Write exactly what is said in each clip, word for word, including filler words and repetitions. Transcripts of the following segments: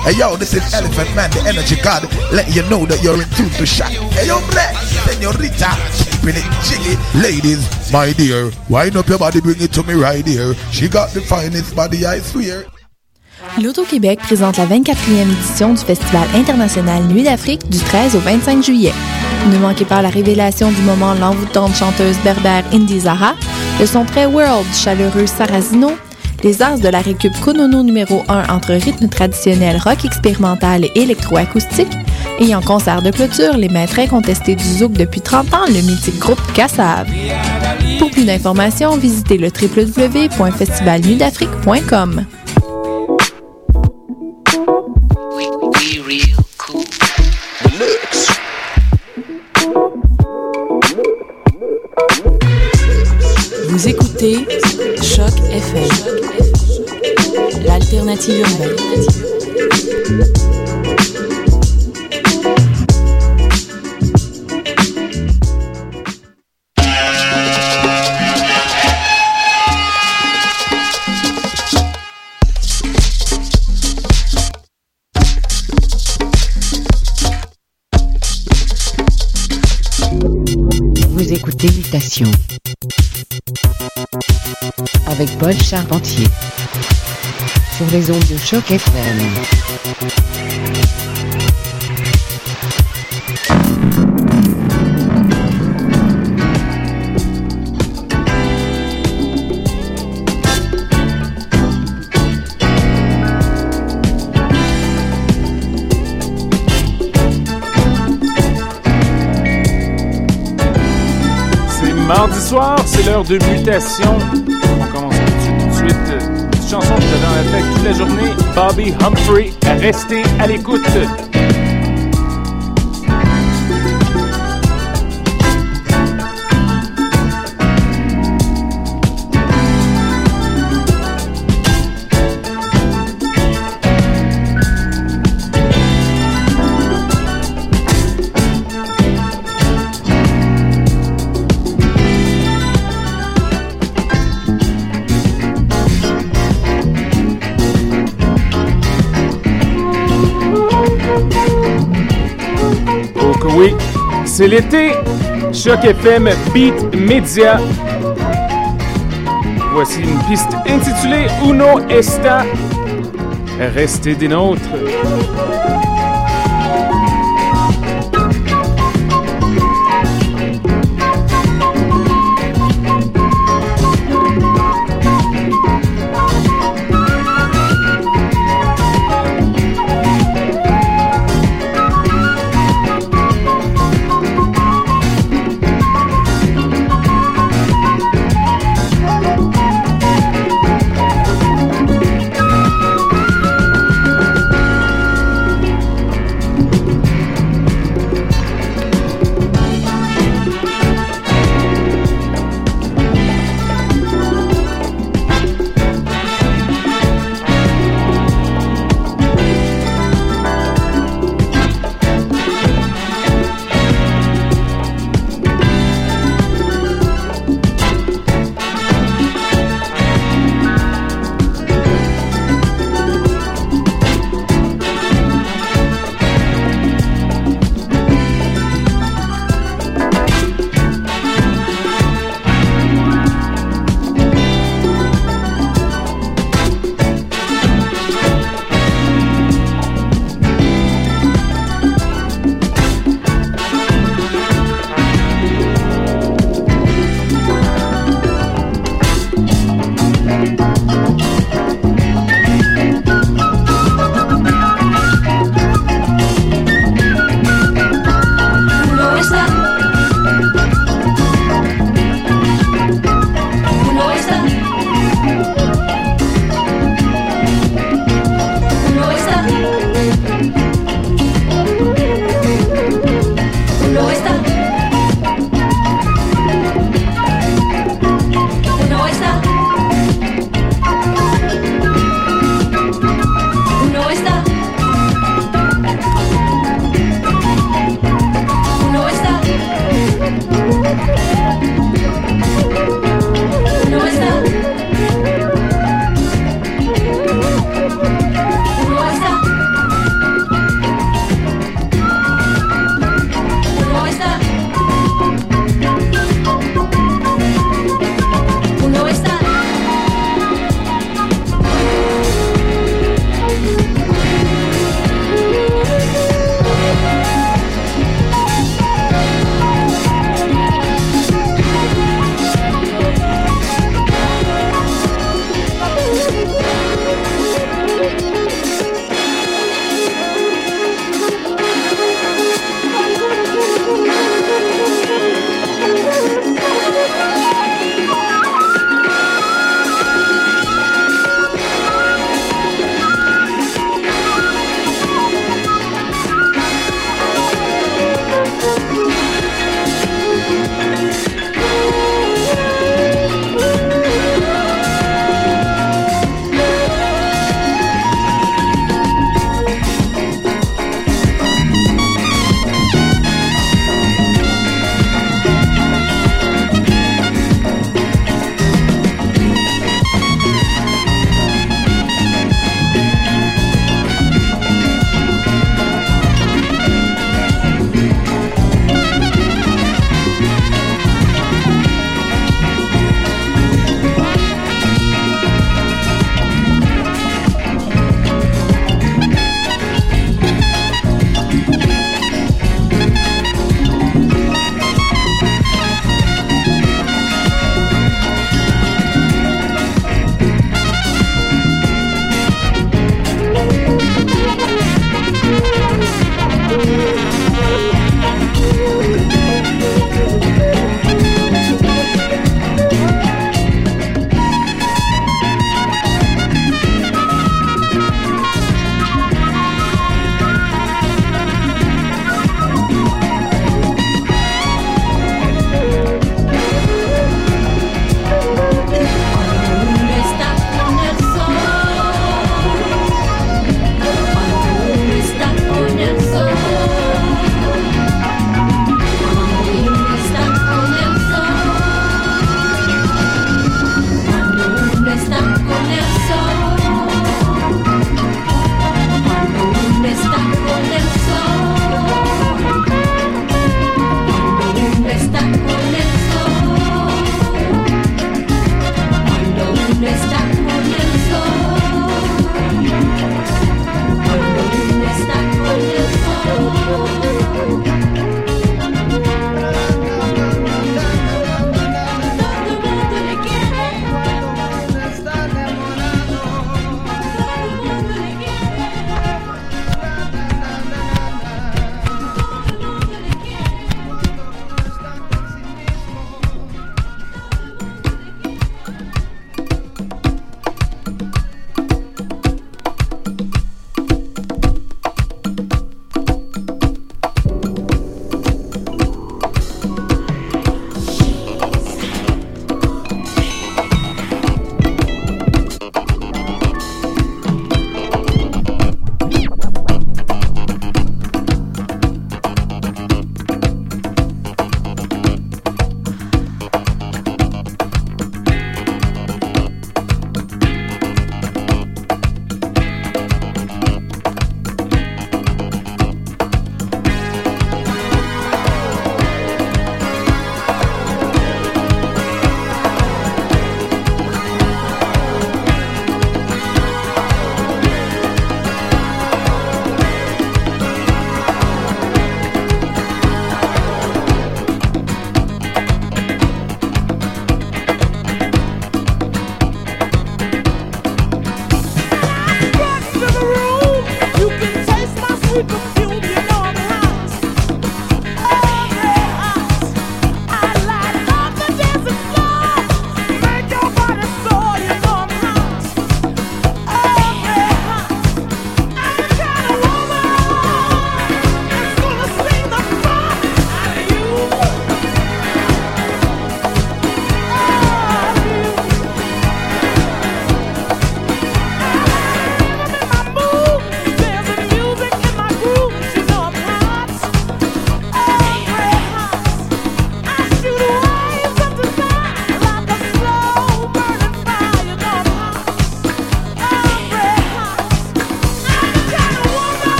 Hey yo, this is Elephant Man, the energy god, letting you know that you're in tune to shot. Hey yo, Black, señorita, keeping it jiggy. Ladies, my dear, wind up your body, bring it to me right here. She got the finest body, I swear. L'Auto-Québec présente la vingt-quatrième édition du Festival international Nuit d'Afrique du treize au vingt-cinq juillet. Ne manquez pas la révélation du moment l'envoûtante chanteuse berbère Indy Zahra, le son très world du chaleureux Sarrazino, les as de la récup Konono numéro un entre rythme traditionnel rock expérimental et électroacoustique, et en concert de clôture, les maîtres incontestés du zouk depuis trente ans, le mythique groupe Kassav. Pour plus d'informations, visitez le w w w point festival nuit d'afrique point com. Vous écoutez Choc F M, l'alternative urbaine. Vous écoutez Mutation avec Paul Charpentier sur les ondes de Choc F M. Mardi soir, c'est l'heure de Mutation. On commence tout de suite, tout de suite. Petite chanson que vous avez en effet toute la journée. Bobby Humphrey, restez à l'écoute. Oui, c'est l'été. Choc F M Beat Media. Voici une piste intitulée Uno Esta. Restez des nôtres.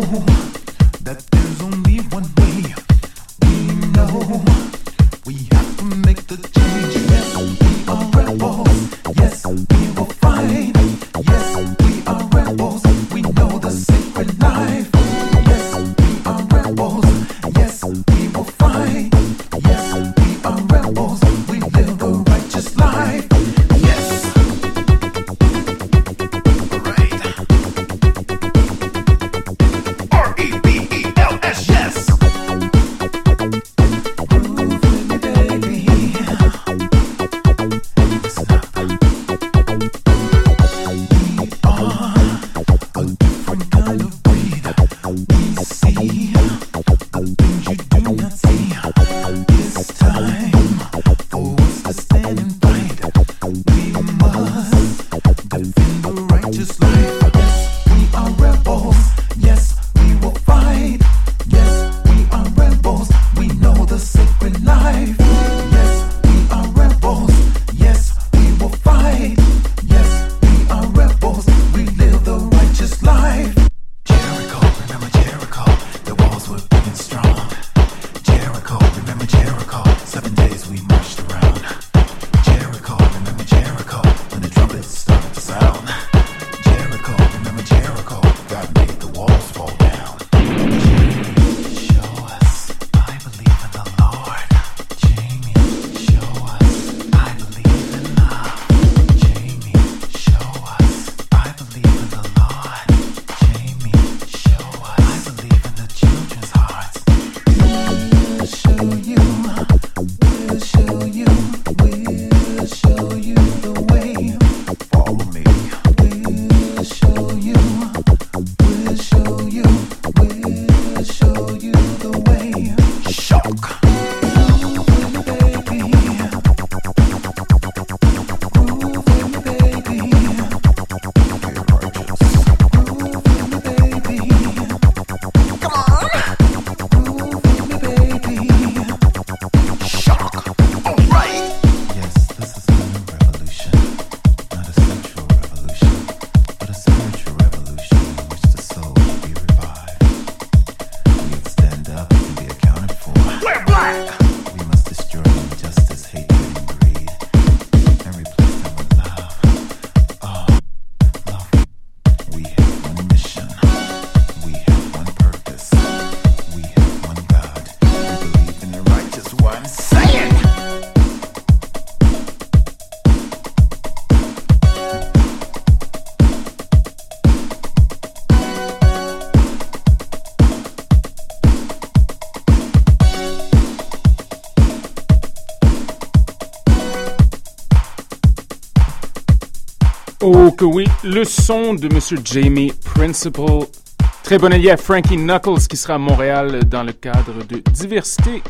Oh que oui, le son de Monsieur Jamie Principle. Très bon allié à Frankie Knuckles qui sera à Montréal dans le cadre de Diversité.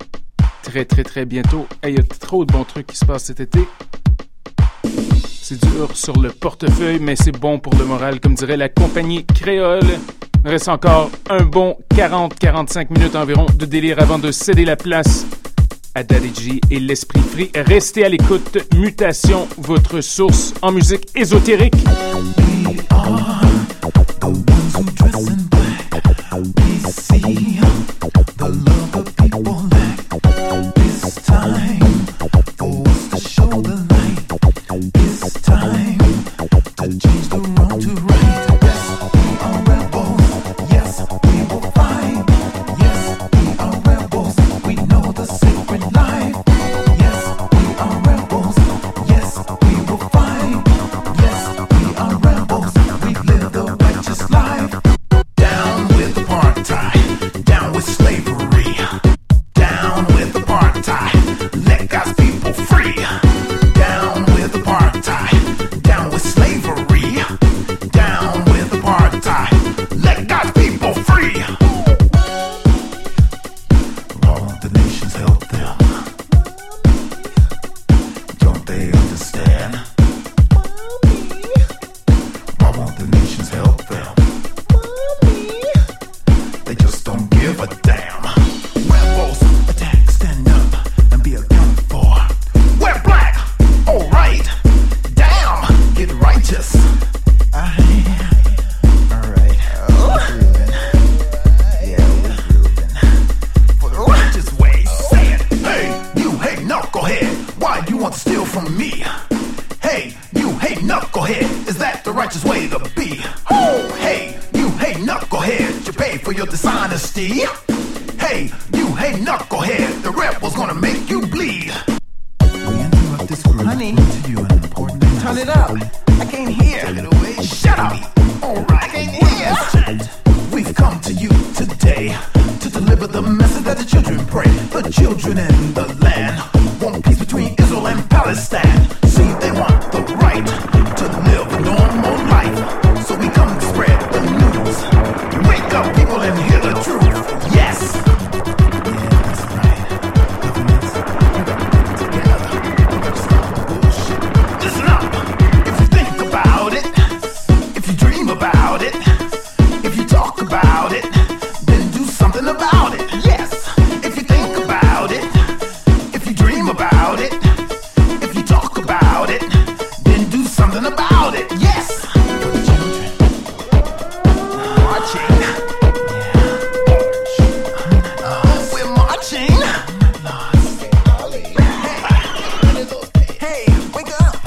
Très très très bientôt. Il hey, y a trop de bons trucs qui se passent cet été. C'est dur sur le portefeuille, mais c'est bon pour le moral, comme dirait la compagnie créole. Il reste encore un bon quarante à quarante-cinq minutes environ de délire avant de céder la place à Daddy G et l'Esprit Free. Restez à l'écoute. Mutation, votre source en musique ésotérique. We are the ones who dress in black. We see the love of people lack. This time for us to show the light. This time to change the wrong to right. Yes, we are rebels. Yes, we will fight. Yes, we are rebels. We know the sacred life. Yes, we are rebels. Yes, we will fight. Yes, we are rebels. We live the righteous life. Down with apartheid. Down with slavery. Down with apartheid. Let God's people free. Down with apartheid. Down with slavery. Down with apartheid. Let God's people free. All the nations help them. Don't they understand? Why won't the nations help them? They just don't give a damn. Rebels attack, stand up and be accounted for. We're black, alright. Damn, get righteous. Alright. dishonesty. Hey, you, hey, knucklehead, the rebel's gonna make you bleed. We interrupt this group. Honey, to you an important announcement. Turn it up. I can't hear. Take it away. Shut up. All right. I can't hear. We've come to you today to deliver the message that the children pray. The children in the land want peace between Israel and Palestine. See, they want the right to live a normal life. So we come to spread the news. Wake up, people, and hear the truth. Yes. About it, if you talk about it, then do something about it. Yes, if you think about it, if you dream about it, if you talk about it, then do something about it. Yes, for the children marching, yeah, uh, we're marching. Hey, hey, wake up.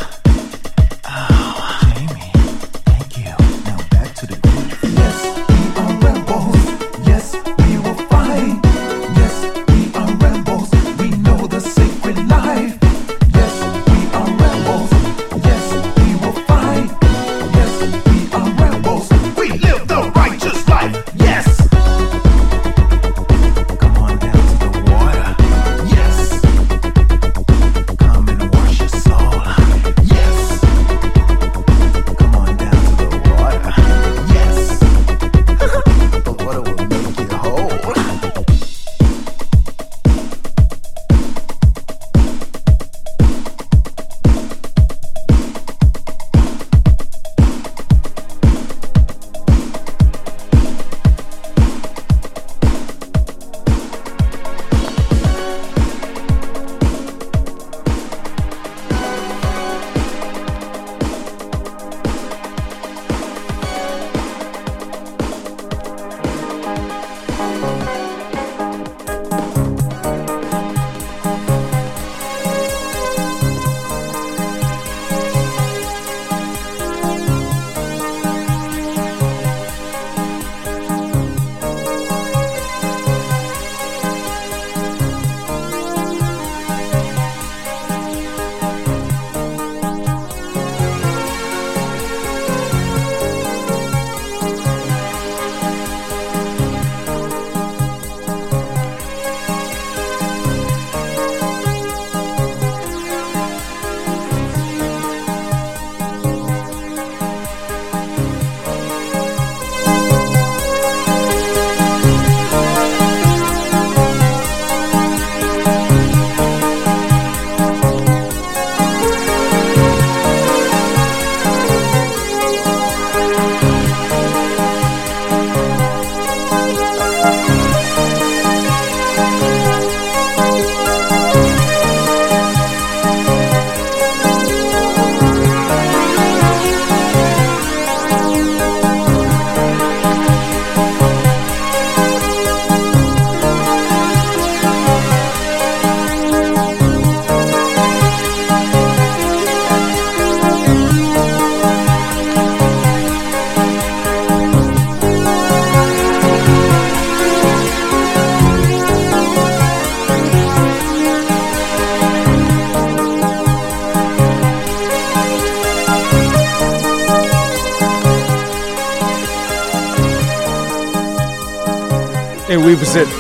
Et oui, vous êtes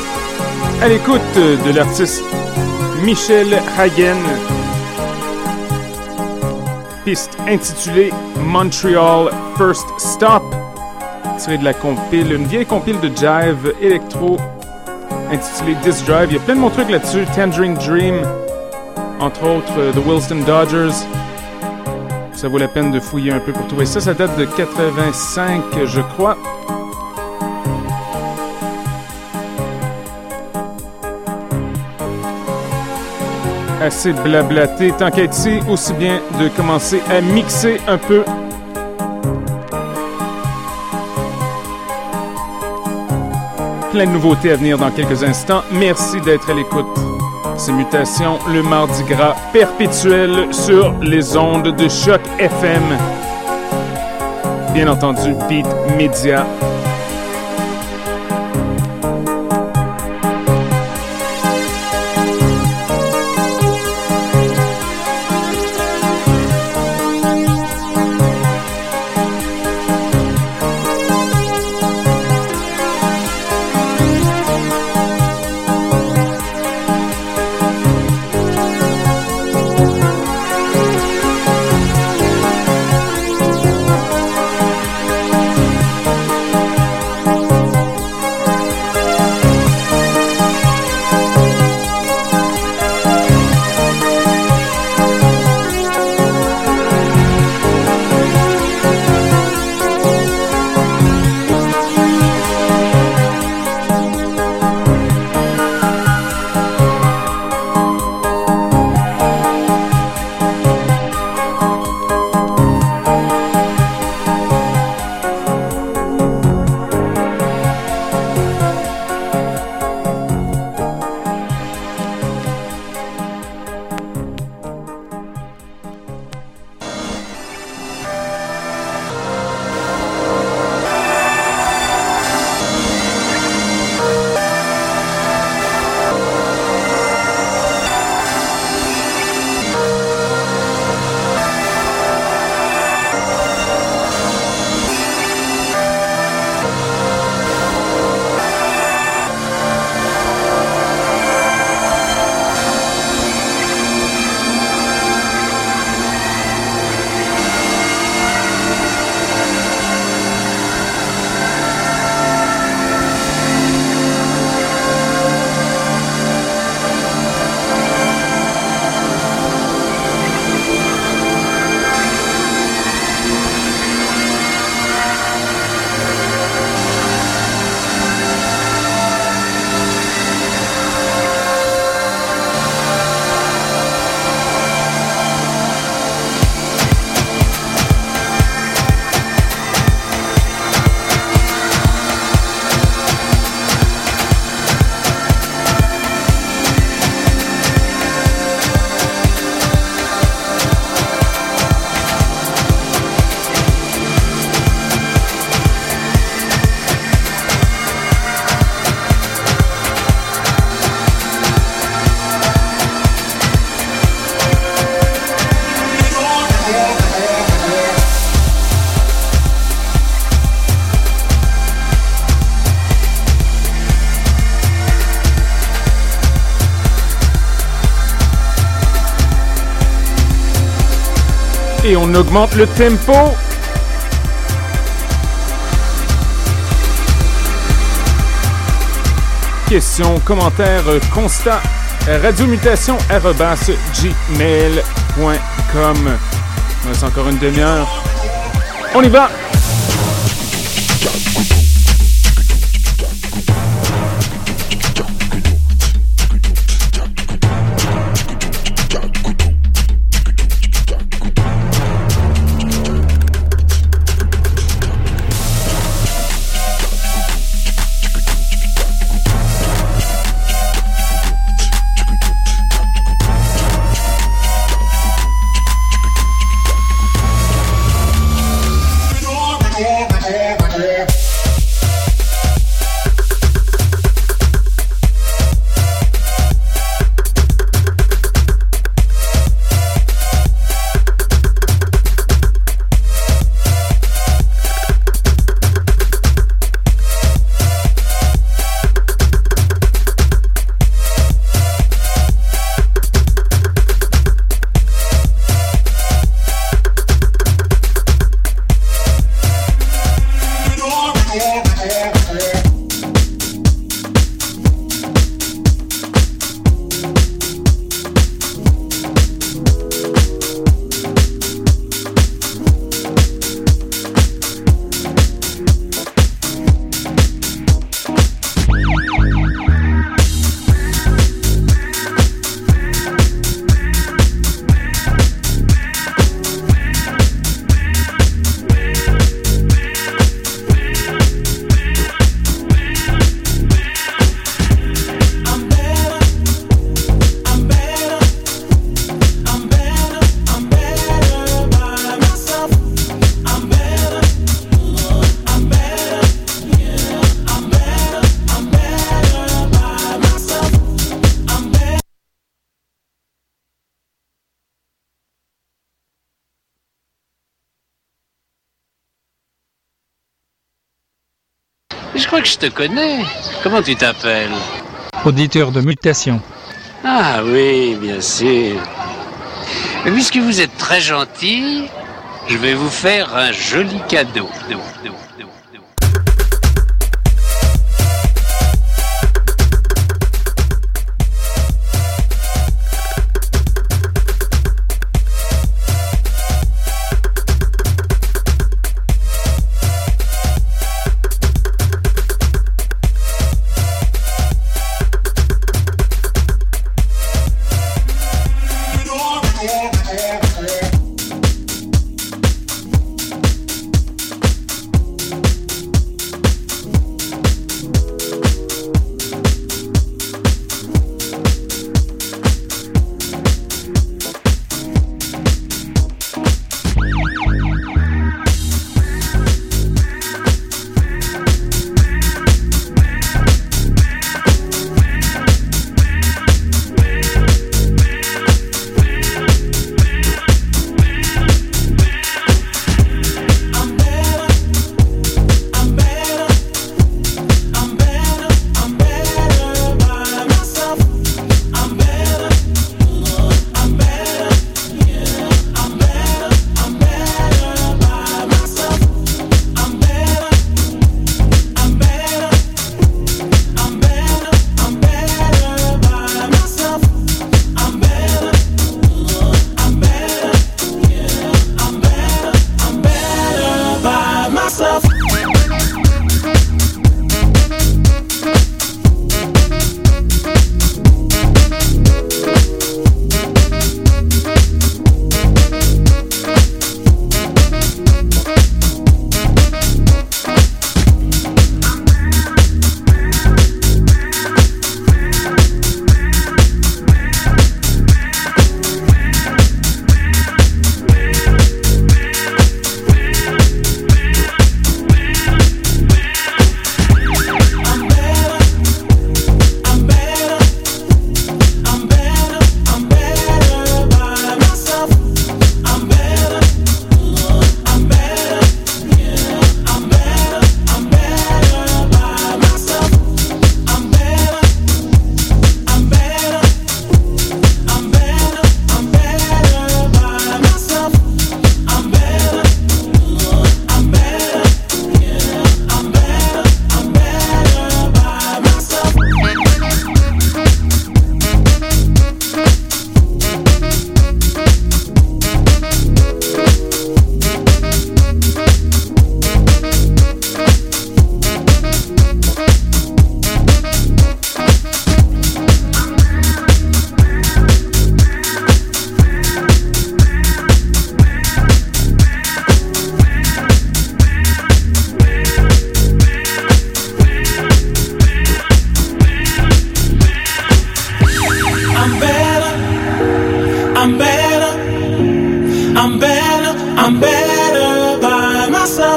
à l'écoute de l'artiste Michel Hagen. Piste intitulée Montreal First Stop, tirée de la compile, une vieille compile de jive électro intitulée Disc Drive. Il y a plein de bons trucs là-dessus. Tangerine Dream, entre autres The Wilson Dodgers. Ça vaut la peine de fouiller un peu pour trouver ça. Ça date de quatre-vingt-cinq, je crois. Assez blablaté, tant qu'à être ici, aussi bien de commencer à mixer un peu. Plein de nouveautés à venir dans quelques instants. Merci d'être à l'écoute. C'est Mutations, le mardi gras perpétuel sur les ondes de Choc F M. Bien entendu, Beat Media. Et on augmente le tempo. Questions, commentaires, constats, radiomutation arobase gmail point com. Il reste encore une demi-heure. On y va! Je crois que je te connais. Comment tu t'appelles? Auditeur de mutation. Ah oui, bien sûr. Mais puisque vous êtes très gentil, je vais vous faire un joli cadeau.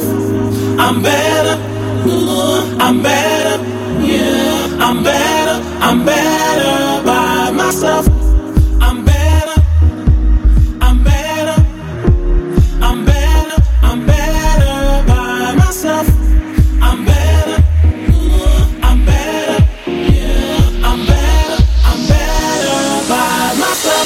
myself. I'm better. I'm better. Yeah, I'm better. I'm better by myself. I'm better. I'm better. I'm better. I'm better by myself. I'm better. I'm better. Yeah, I'm better. I'm better by myself.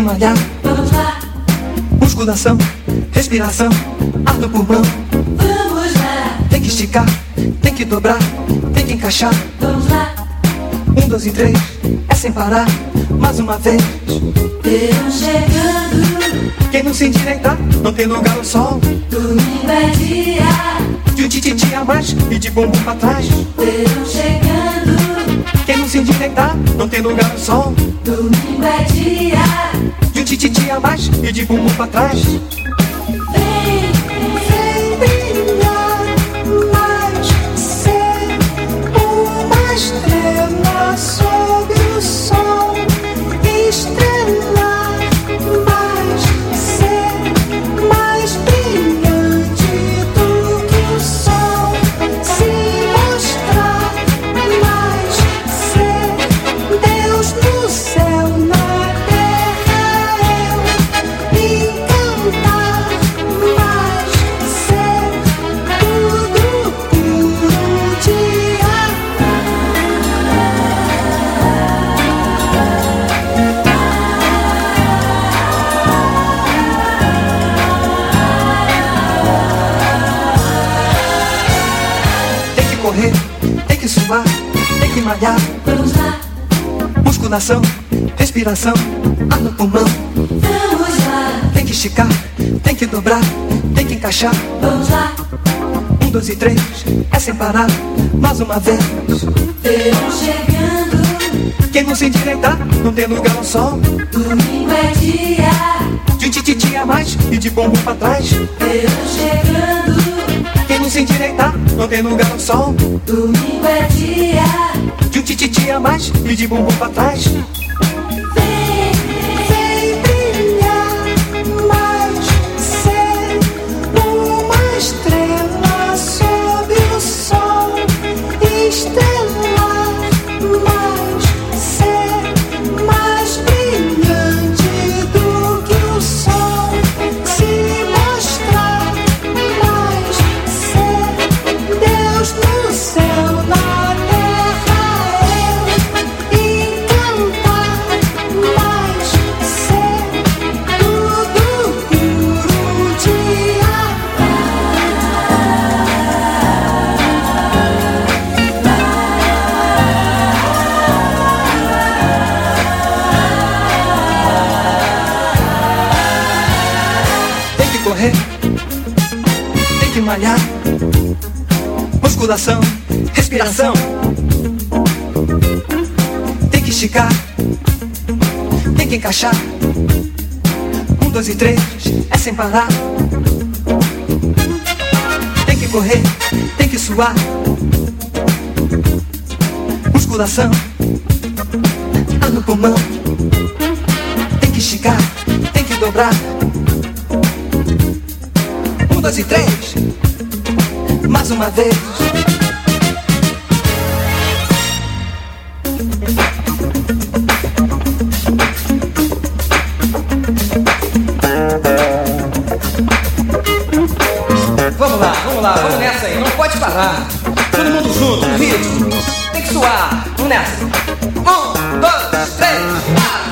malhar. Vamos lá. Musculação, respiração, ar no pulmão. Vamos lá. Tem que esticar, tem que dobrar, tem que encaixar. Vamos lá. Um, dois e três, é sem parar, mais uma vez. Verão chegando. Quem não se endireitar, não tem lugar ao sol. Domingo é dia de um tititi a mais e de bumbum pra trás. Verão chegando. Quem não se endireitar, não tem lugar ao sol. Domingo é dia de um tititi a mais e de bumbum pra trás. Vem, vem brilhar, mais ser uma estrela sob o sol. Estrelar, mais ser mais brilhante do que o sol. Se mostrar, mais ser Deus no céu, na terra eu. E cantar, mais ser tudo puro de amar. Tem que correr, tem que suar, tem que malhar. Vamos lá. Musculação, respiração, ar no pulmão. Vamos lá. Tem que esticar, tem que dobrar, tem que encaixar. Vamos lá. Um, dois e três, é sem parar, mais uma vez. Verão chegando. Quem não se endireitar, não tem lugar ao sol. Domingo é dia de um tititi a mais e de bumbum pra trás. Verão chegando. Quem não se endireitar, não tem lugar ao sol. Domingo é dia de um tititi a mais e de bumbum pra trás. Vem, vem brilhar, mais ser uma estrela sob o sol. Estrelar, mais ser mais brilhante do que o sol. Se mostrar, mais ser Deus no céu, na terra eu. E cantar, mais ser tudo puro de amar. Tem que correr, tem que malhar. Musculação, respiração. Tem que esticar, tem que encaixar. Um, dois e três, é sem parar. Tem que correr, tem que suar. Musculação, ar no pulmão. Tem que esticar, tem que dobrar. Um, dois e três, mais uma vez. Vamos lá, vamos lá, vamos nessa aí, não pode parar. Todo mundo junto, no ritmo. Tem que suar, vamos nessa. Um, dois, três, quatro.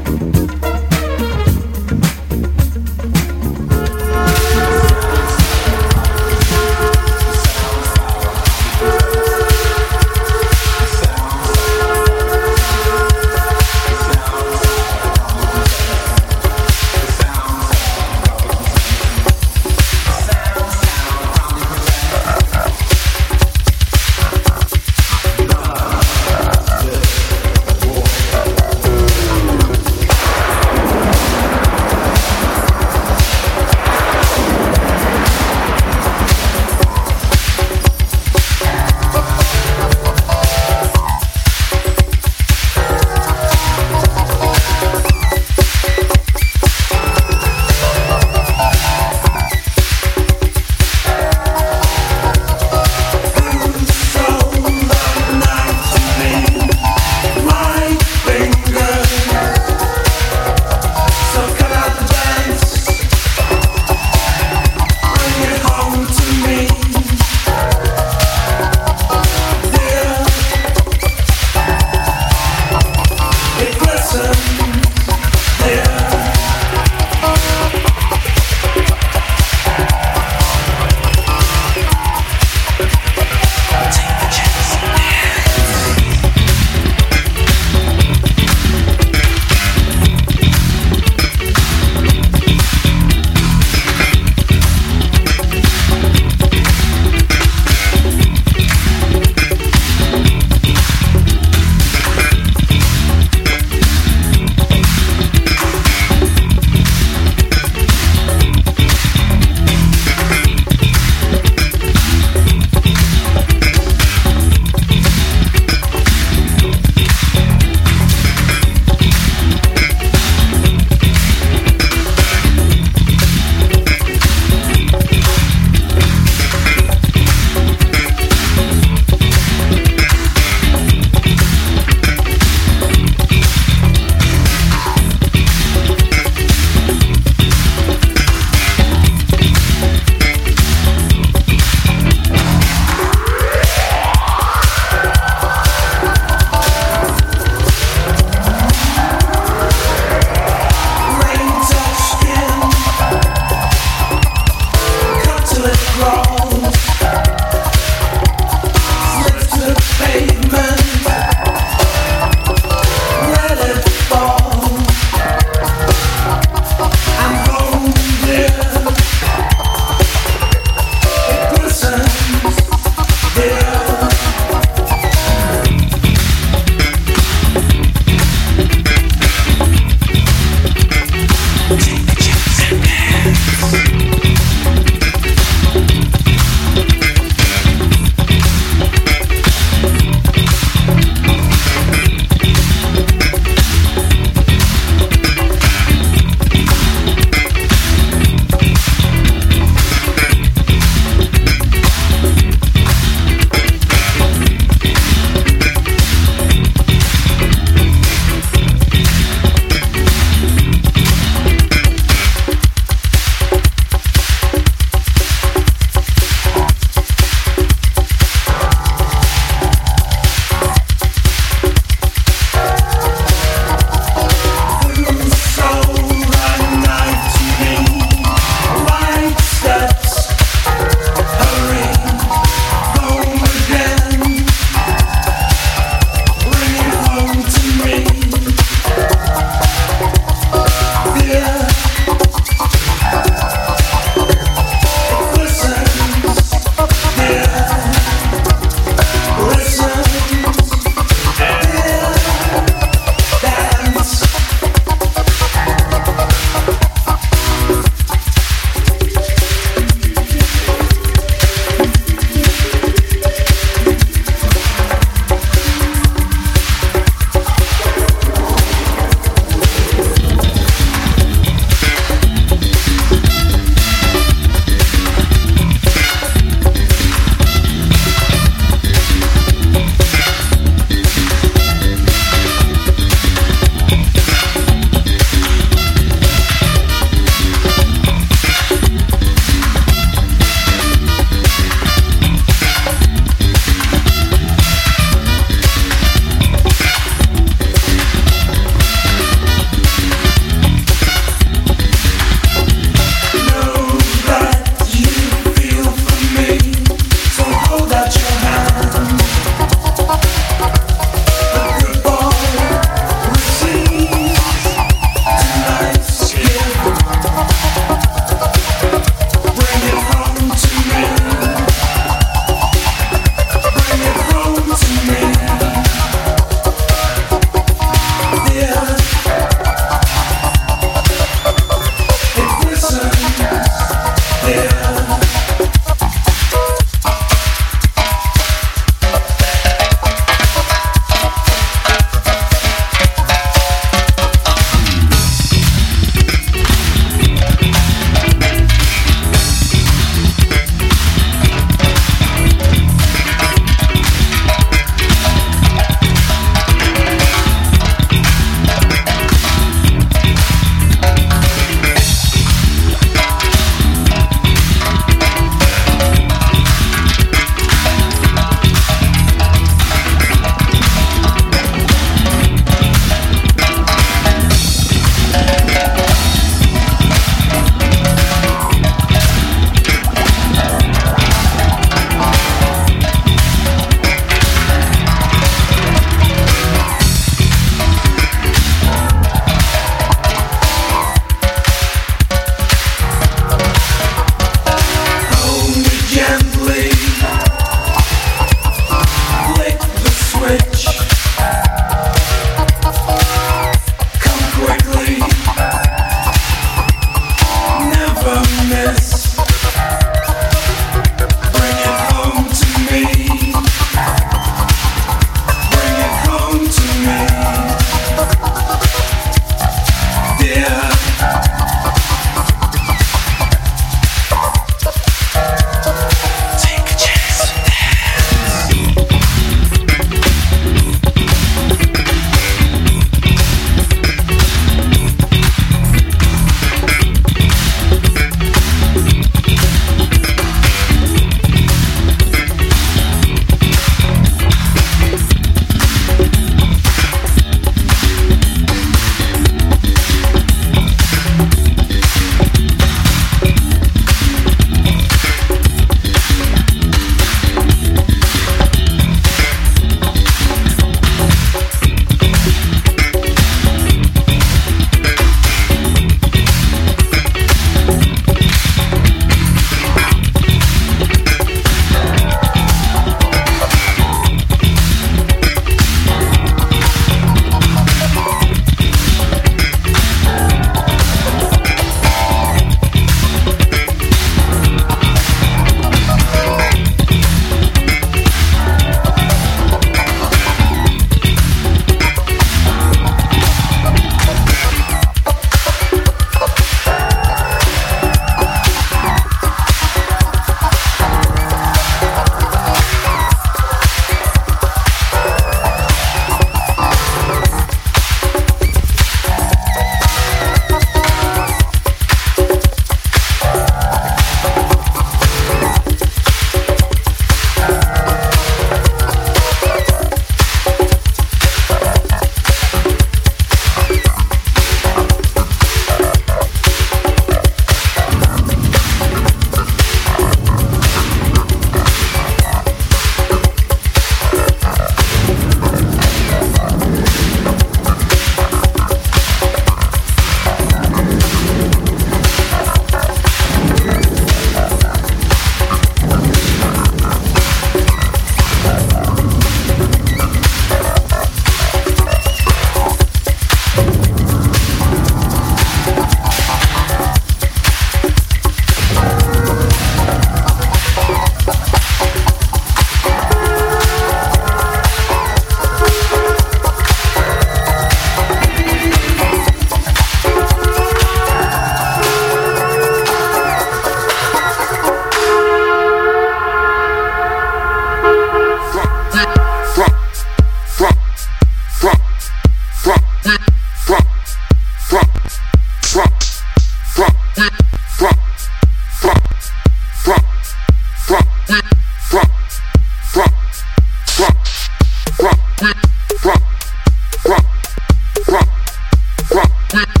with